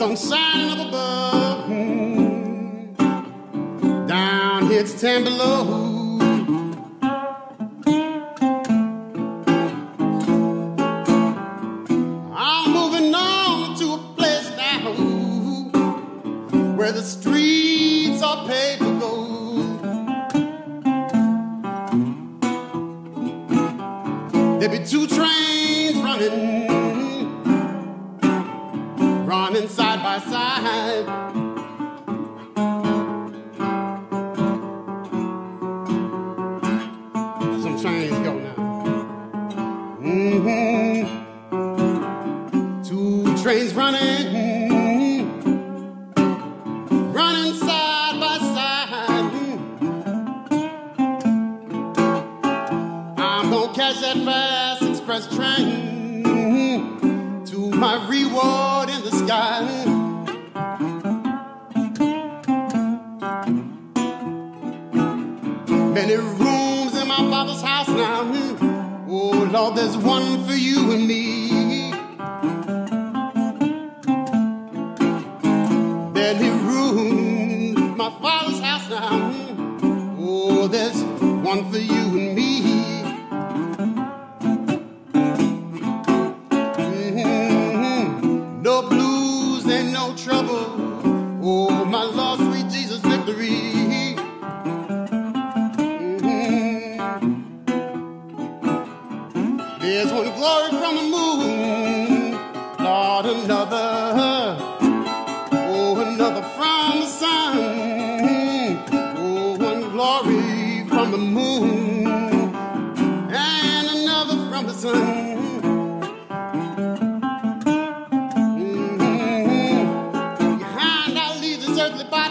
sun shining up above. Down here it's 10 below. I'm moving on to a place now where the streets are paved with gold. There be 2 trains running side by side. Some trains go now. 2 trains running side by side. I'm gonna catch that fast express train to my reward in the sky. Many rooms in my father's house now. Oh Lord, there's one for you and me. Many rooms in my father's house now. Oh, there's one for you and me. No blues and no trouble. Oh, my Lord, sweet Jesus, victory. There's one glory from the moon, Lord, another. Oh, another from the sun. Oh, one glory from the moon and another from the sun. Behind I leave this earthly body.